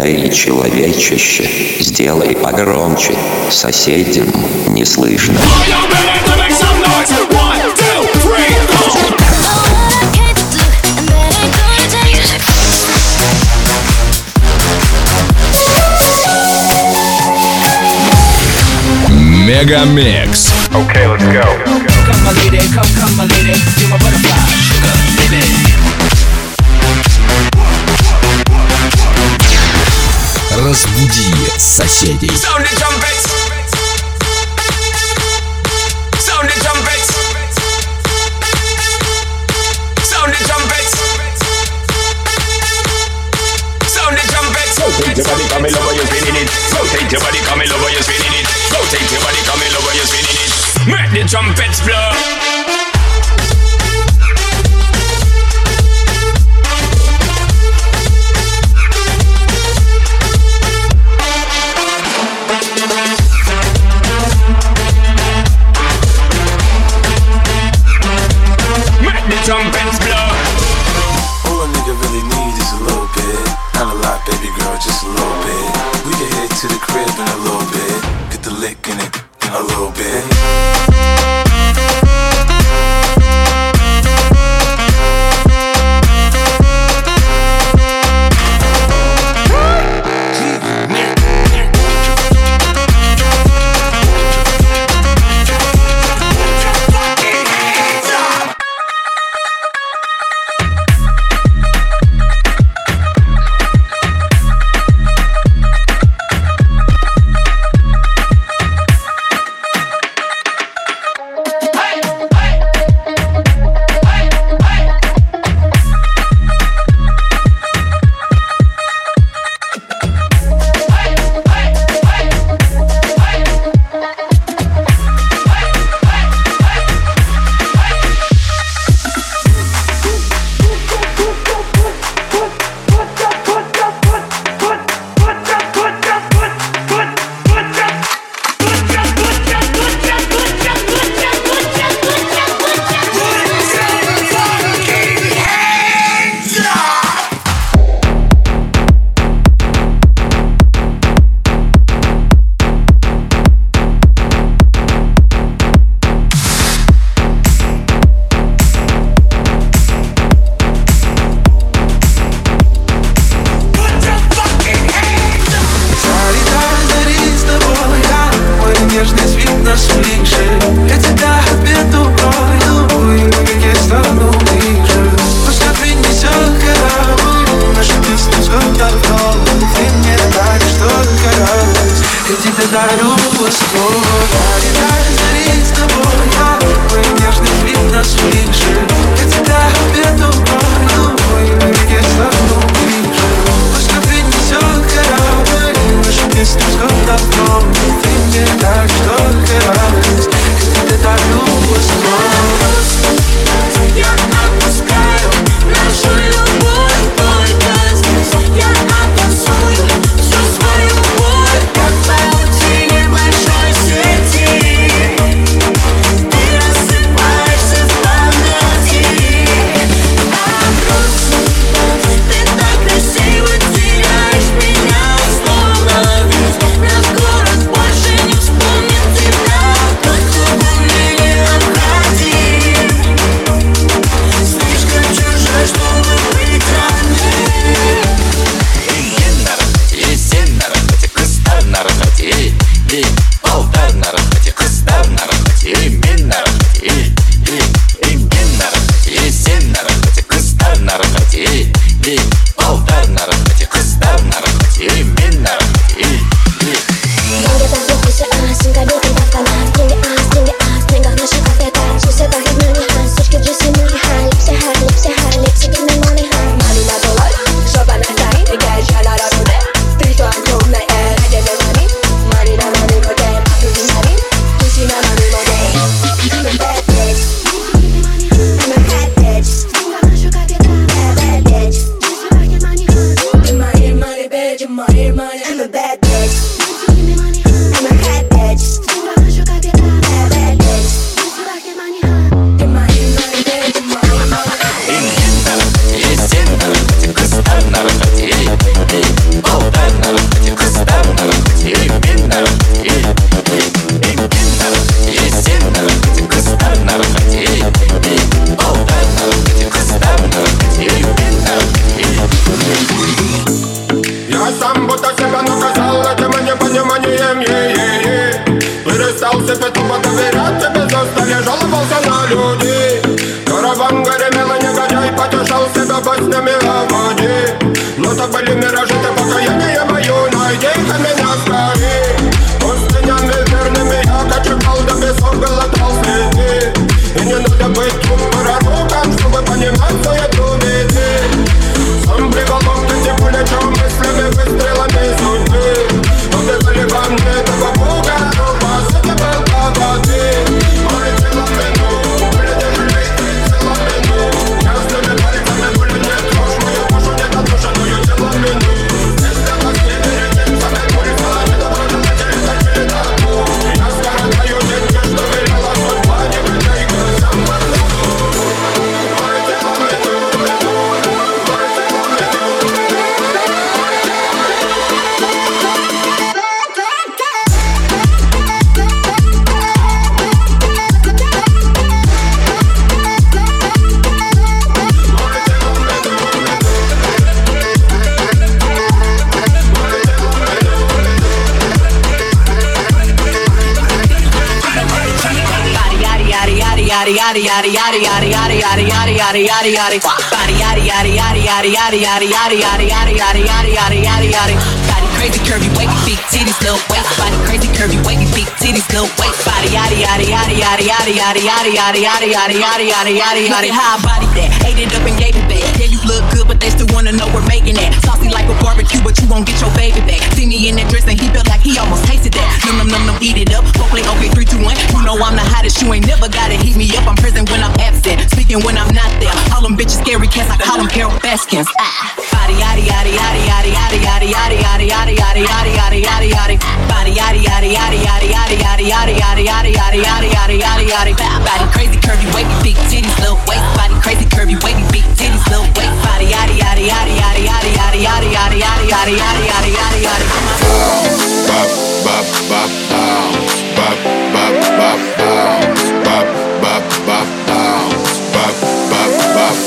Эй, человечище, сделай погромче, соседям не слышно. Мегамикс. Okay, let's go. Come my lady, come my lady, you're my butterfly, sugar, baby. Разбуди соседей. Sound the trumpets. Sound the trumpets. Sound the trumpets. Sound the trumpets. Rotate your body, come over, you're spinning it. Rotate your body, come over, you're spinning it. Rotate your body, come over, you're spinning it. Make the trumpets blow. Trumpets blow. All a nigga really need is a little bit. Not a lot, baby girl, just a little bit. We can head to the crib in a little bit. Get the lick in it in a little bit. Oh, yaddy yaddy yaddy yaddy yaddy yaddy yaddy yaddy yaddy yaddy yaddy body yaddy yaddy yaddy yaddy yaddy yaddy yaddy yaddy yaddy yaddy yaddy yaddy yaddy yaddy body crazy curvy wavy big titties little waist body crazy curvy wavy big titties little waist body yaddy yaddy yaddy yaddy yaddy yaddy yaddy yaddy yaddy yaddy yaddy yaddy yaddy yaddy how I body that ate it up and gave it back yeah you look good but they still wanna know we're making that saucy like a barbecue but you won't get your baby back see me in that dress and he felt like he almost tasted that num num num num eat it up go play okay 3 2 1 you know I'm the hottest you ain't never gotta heat me up I'm present when I'm absent speaking when I'm not there all them bitches scary cats I call them Carol Baskins body yaddy yaddy yaddy yaddy yaddy yaddy yaddy yaddy yaddy yaddy yaddy yaddy yaddy yaddy body yaddy yaddy yaddy yaddy yaddy yaddy yaddy yaddy yaddy yaddy yaddy yaddy yaddy yaddy body crazy curvy wavy big titties little waist body crazy curvy wavy big titties little waist body yaddy yaddy yaddy yaddy yaddy yaddy yaddy yaddy yaddy yaddy yaddy yaddy yaddy bop bop bop bop bop bop bop bop bop bop bop bop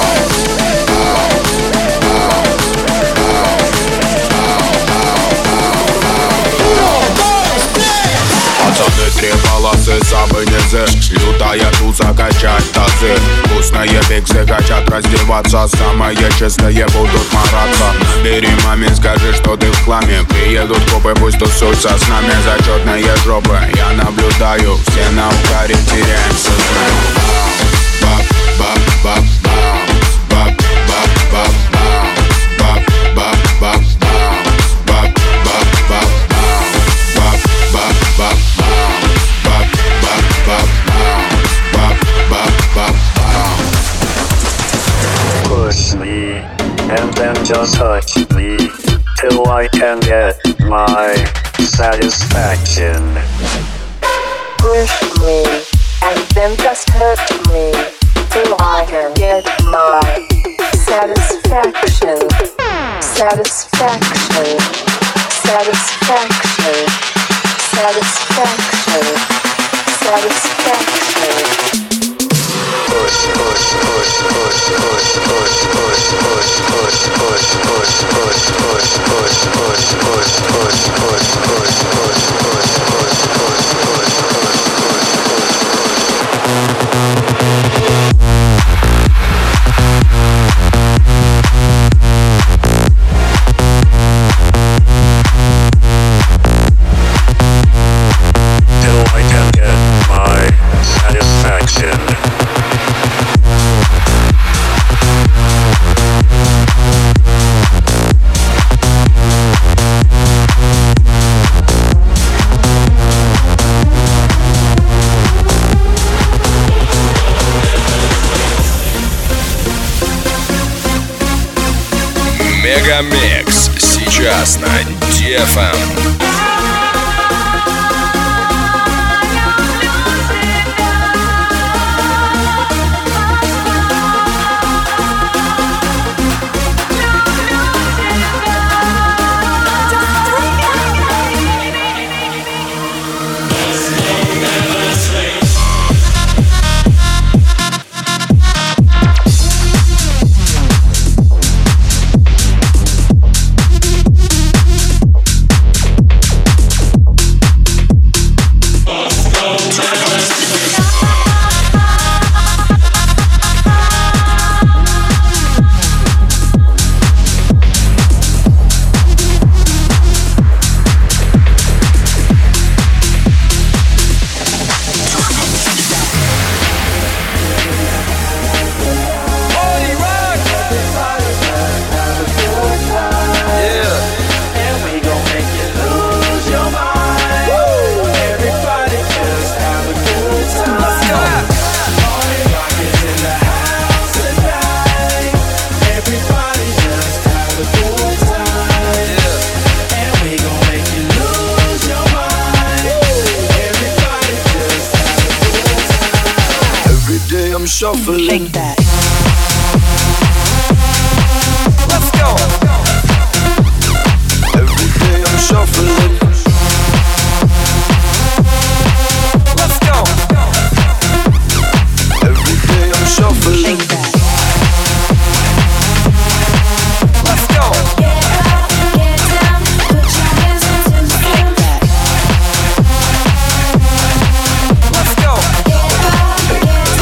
Пацаны, 3 полосы, самые низы Лютая туза, качать тазы Вкусные пиксы хотят раздеваться Самые чистые будут мараться Набери маме, скажи, что ты в хламе Приедут копы, пусть тусуются с нами Зачетные жопы, я наблюдаю Все на угаре, теряем сознание Бап, бап, бап, бап, бап, бап, бап, бап, бап, бап, бап, бап, бап, бап, бап, бап, Push me, and then just touch me, till I can get my satisfaction. Push me, and then just hurt me, till I can get my satisfaction. Satisfaction. Satisfaction. Satisfaction. Satisfaction. Push, push, push, push, push, push, push, push, push, push, push, push, push, push, push, push, push, push, push, till I can get my satisfaction. Мегамикс сейчас на DFM. Shuffling. Shake that. Let's go. Every day I'm shuffling. Let's go. Every day I'm shuffling. Shake that. Let's go. Get up, get down, put your hands into the Shake that. Let's go. Get up, get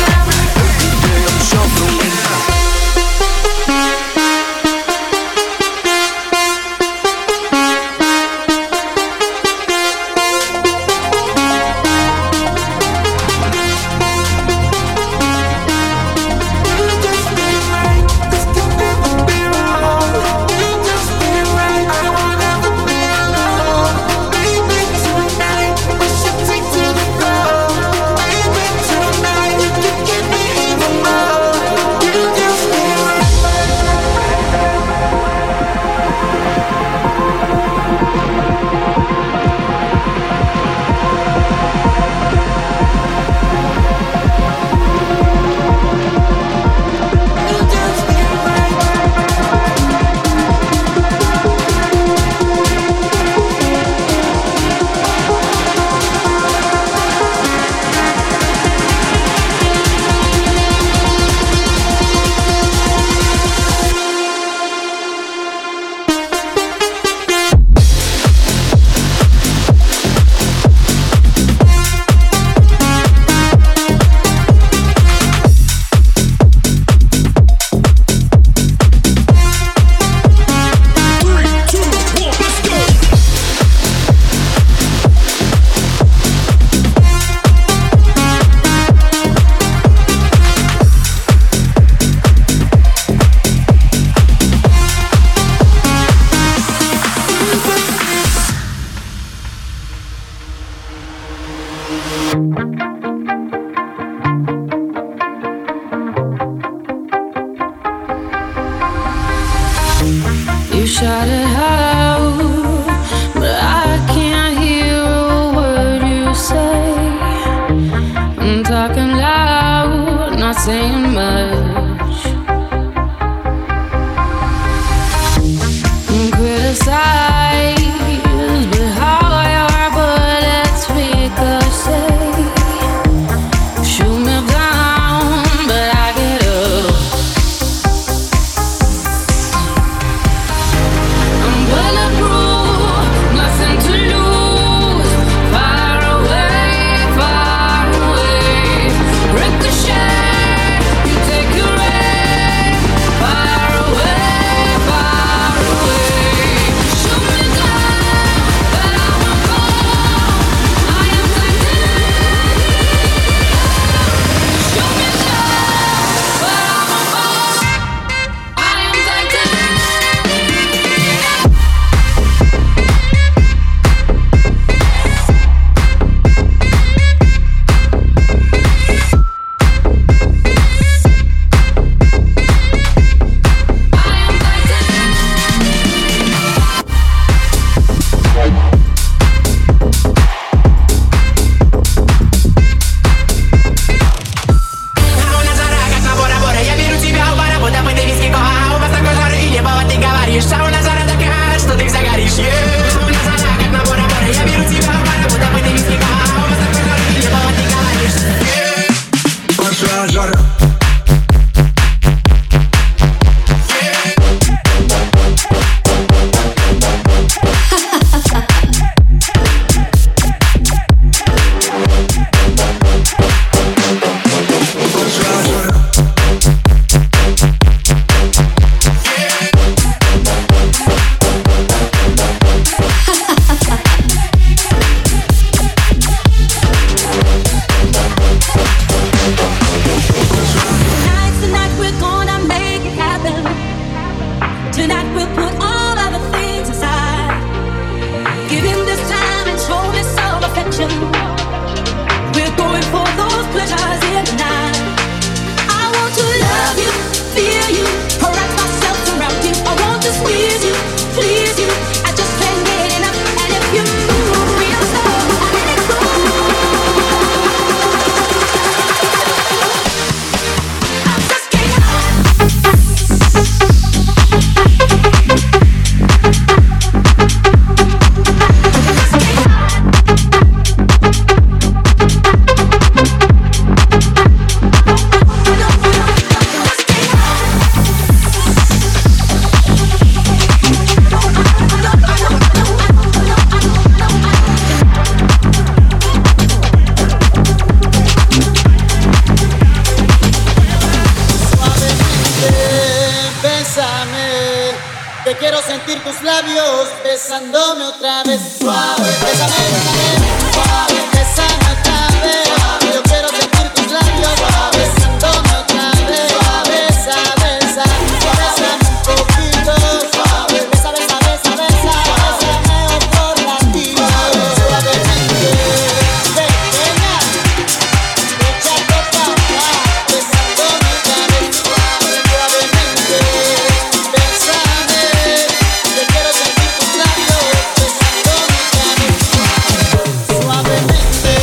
besándome otra vez suave. Bésame, bésame, suave, bésame otra vez. Yo quiero sentir tus labios suave, besándome otra vez suave. Besa, besa, bésame un poquito suave. Besa, besa, besa, besa, bésame otro ratito suavemente. Pequeña, échate pa' acá, besándome otra vez suave, suavemente. Bésame, yo quiero sentir tus labios besándome otra vez suavemente,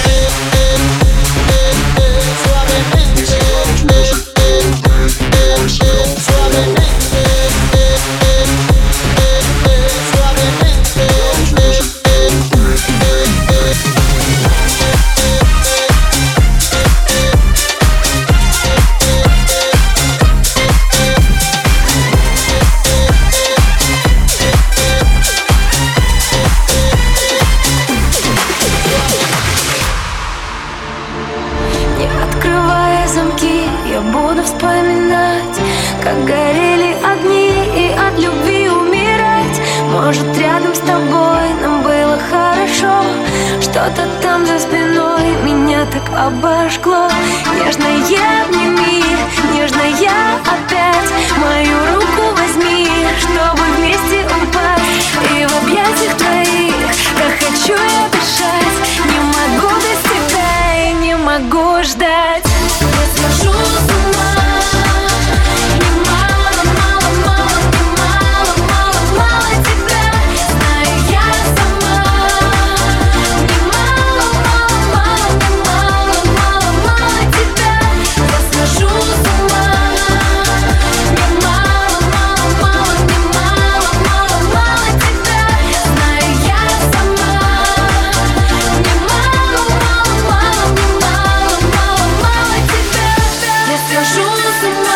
suavemente, Не открывая замки, я буду вспоминать, как горели огни и от любви умирать. Может, рядом с тобой нам было хорошо, что-то там за спиной меня так обожгло. Нежная обними, нежная опять мою руку возьми, чтобы вместе упасть. И в объятиях твоих, как хочу я дышать, не могу без тебя и не могу ждать. Я схожу с ума. Мне мало, мало, мало, мне мало, мало, мало тебя. Знаю я сама. Мне мало, мало, мало, мне мало, мало, мало тебя. Я схожу с ума. Мне мало, мало, мало, мне мало, мало, мало тебя. Знаю я сама. Мне мало, мало, мало, мне мало, мало, мало тебя. Я схожу с ума.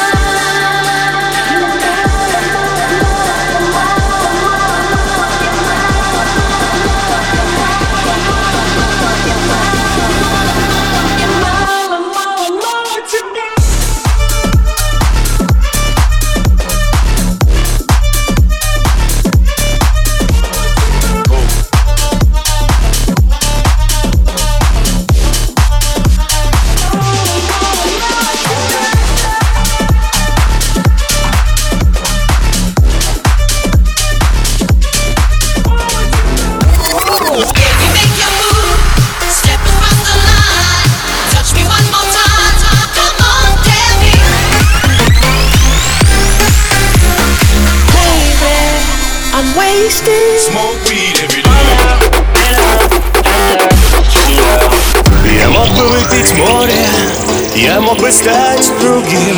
Мало, мало, мало тебя. Smoke weed every day. Я мог бы выпить море, я мог бы стать другим.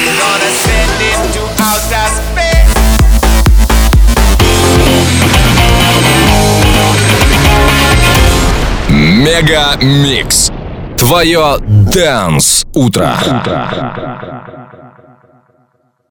Мега Микс. Твое Dance утро.